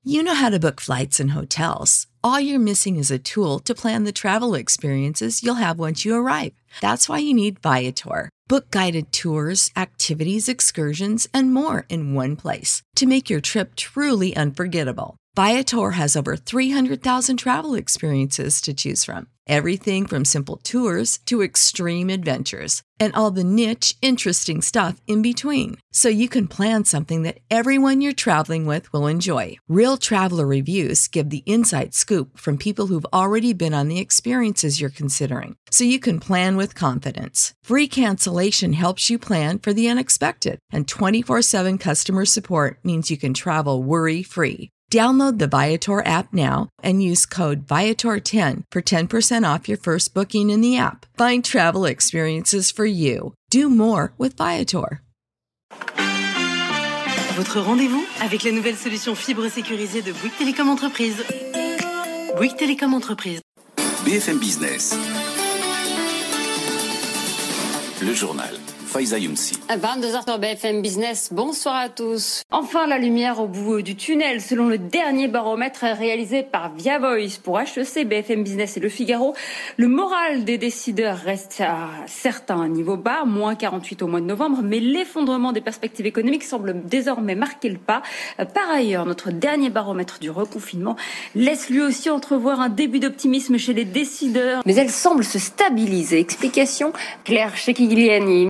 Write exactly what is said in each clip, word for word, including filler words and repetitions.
You know how to book flights and hotels. All you're missing is a tool to plan the travel experiences you'll have once you arrive. That's why you need Viator. Book guided tours, activities, excursions, and more in one place to make your trip truly unforgettable. Viator has over three hundred thousand travel experiences to choose from. Everything from simple tours to extreme adventures and all the niche, interesting stuff in between. So you can plan something that everyone you're traveling with will enjoy. Real traveler reviews give the inside scoop from people who've already been on the experiences you're considering. So you can plan with confidence. Free cancellation helps you plan for the unexpected. And twenty-four seven customer support means you can travel worry-free. Download the Viator app now and use code Viator ten for ten percent off your first booking in the app. Find travel experiences for you. Do more with Viator. Votre rendez-vous avec la nouvelle solution fibre sécurisée de Bouygues Télécom Entreprise. Bouygues Télécom Entreprise. B F M Business. Le journal. Faiza Younsi. vingt-deux heures sur B F M Business, bonsoir à tous. Enfin la lumière au bout du tunnel, selon le dernier baromètre réalisé par Via Voice pour H E C, B F M Business et Le Figaro. Le moral des décideurs reste à certains niveaux bas, moins quarante-huit au mois de novembre, mais l'effondrement des perspectives économiques semble désormais marquer le pas. Par ailleurs, notre dernier baromètre du reconfinement laisse lui aussi entrevoir un début d'optimisme chez les décideurs. Mais elle semble se stabiliser. Explication, Claire Chekigliani.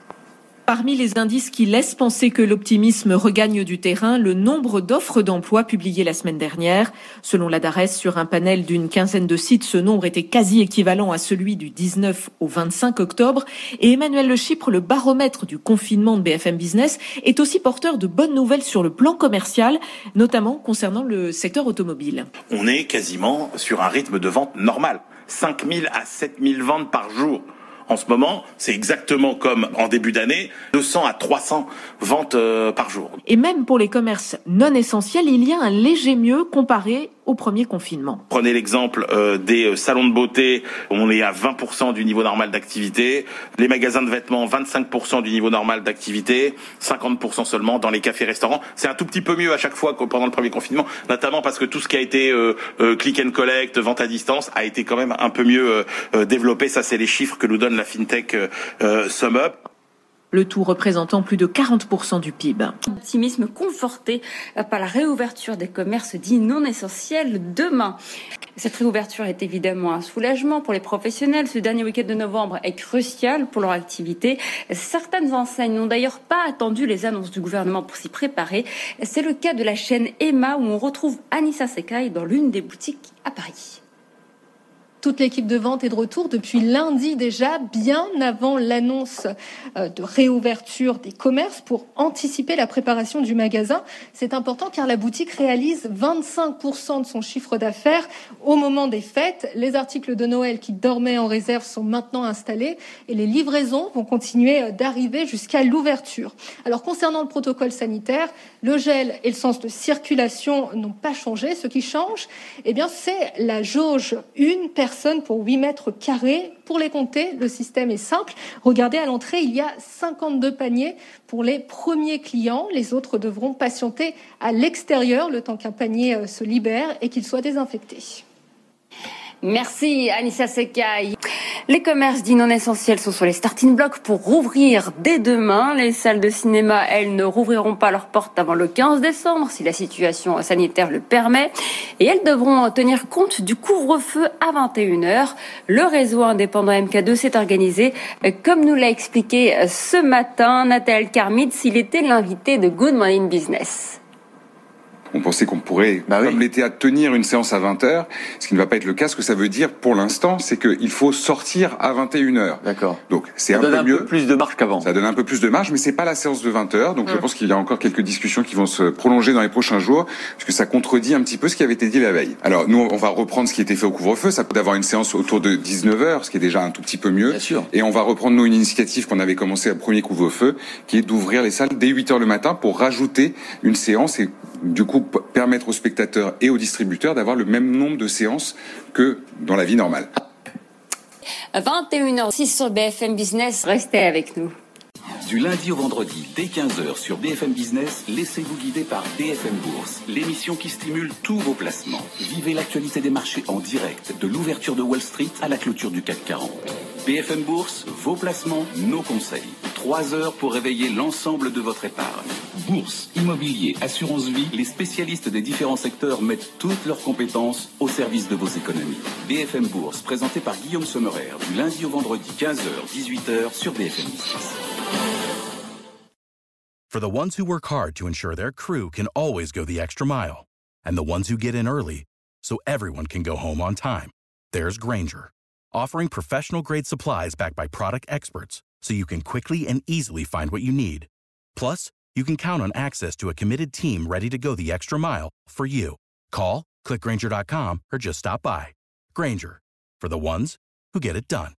Parmi les indices qui laissent penser que l'optimisme regagne du terrain, le nombre d'offres d'emploi publiées la semaine dernière. Selon la DARES, sur un panel d'une quinzaine de sites, ce nombre était quasi équivalent à celui du dix-neuf au vingt-cinq octobre. Et Emmanuel Le Chypre, le baromètre du confinement de B F M Business, est aussi porteur de bonnes nouvelles sur le plan commercial, notamment concernant le secteur automobile. On est quasiment sur un rythme de vente normal. cinq mille à sept mille ventes par jour. En ce moment, c'est exactement comme en début d'année, deux cents à trois cents ventes euh, par jour. Et même pour les commerces non essentiels, il y a un léger mieux comparé au premier confinement. Prenez l'exemple euh, des salons de beauté, on est à vingt pour cent du niveau normal d'activité. Les magasins de vêtements, vingt-cinq pour cent du niveau normal d'activité, cinquante pour cent seulement dans les cafés-restaurants. C'est un tout petit peu mieux à chaque fois que pendant le premier confinement, notamment parce que tout ce qui a été euh, euh, click and collect, vente à distance, a été quand même un peu mieux euh, développé. Ça, c'est les chiffres que nous donne la FinTech euh, SumUp. Le tout représentant plus de quarante pour cent du P I B. Optimisme conforté par la réouverture des commerces dits non essentiels demain. Cette réouverture est évidemment un soulagement pour les professionnels. Ce dernier week-end de novembre est crucial pour leur activité. Certaines enseignes n'ont d'ailleurs pas attendu les annonces du gouvernement pour s'y préparer. C'est le cas de la chaîne Emma où on retrouve Anissa Sekai dans l'une des boutiques à Paris. Toute l'équipe de vente est de retour depuis lundi déjà, bien avant l'annonce de réouverture des commerces pour anticiper la préparation du magasin. C'est important car la boutique réalise vingt-cinq pour cent de son chiffre d'affaires au moment des fêtes. Les articles de Noël qui dormaient en réserve sont maintenant installés et les livraisons vont continuer d'arriver jusqu'à l'ouverture. Alors concernant le protocole sanitaire, le gel et le sens de circulation n'ont pas changé. Ce qui change, eh bien, c'est la jauge une personne pour huit mètres carrés. Pour les compter, le système est simple. Regardez, à l'entrée, il y a cinquante-deux paniers pour les premiers clients. Les autres devront patienter à l'extérieur le temps qu'un panier se libère et qu'il soit désinfecté. Merci Anissa Sekai. Les commerces dits non essentiels sont sur les starting blocks pour rouvrir dès demain. Les salles de cinéma, elles, ne rouvriront pas leurs portes avant le quinze décembre, si la situation sanitaire le permet. Et elles devront tenir compte du couvre-feu à vingt et une heures. Le réseau indépendant M K deux s'est organisé, comme nous l'a expliqué ce matin Nathalie Karmitz. Il était l'invité de Good Morning Business. On pensait qu'on pourrait, bah oui. comme l'été, à tenir une séance à vingt heures, ce qui ne va pas être le cas. Ce que ça veut dire, pour l'instant, c'est qu'il faut sortir à vingt et une heures. D'accord. Donc, c'est ça un donne peu un mieux. peu plus de marge qu'avant. Ça donne un peu plus de marge, mais c'est pas la séance de vingt heures. Donc, mmh. je pense qu'il y a encore quelques discussions qui vont se prolonger dans les prochains jours, puisque ça contredit un petit peu ce qui avait été dit la veille. Alors, nous, on va reprendre ce qui était fait au couvre-feu. Ça peut d'avoir une séance autour de dix-neuf heures, ce qui est déjà un tout petit peu mieux. Bien sûr. Et on va reprendre, nous, une initiative qu'on avait commencé au premier couvre-feu, qui est d'ouvrir les salles dès huit heures le matin pour rajouter une séance et, du coup, permettre aux spectateurs et aux distributeurs d'avoir le même nombre de séances que dans la vie normale. vingt et une heures six sur B F M Business, restez avec nous. Du lundi au vendredi, dès quinze heures sur B F M Business, laissez-vous guider par B F M Bourse, l'émission qui stimule tous vos placements. Vivez l'actualité des marchés en direct, de l'ouverture de Wall Street à la clôture du C A C quarante. B F M Bourse, vos placements, nos conseils. Trois heures pour réveiller l'ensemble de votre épargne. Bourse, immobilier, assurance vie, les spécialistes des différents secteurs mettent toutes leurs compétences au service de vos économies. B F M Bourse, présenté par Guillaume Sommerer, du lundi au vendredi, quinze heures, dix-huit heures sur B F M Business. For the ones who work hard to ensure their crew can always go the extra mile, and the ones who get in early so everyone can go home on time, there's Grainger, offering professional-grade supplies backed by product experts so you can quickly and easily find what you need. Plus, you can count on access to a committed team ready to go the extra mile for you. Call, click Grainger dot com, or just stop by. Grainger, for the ones who get it done.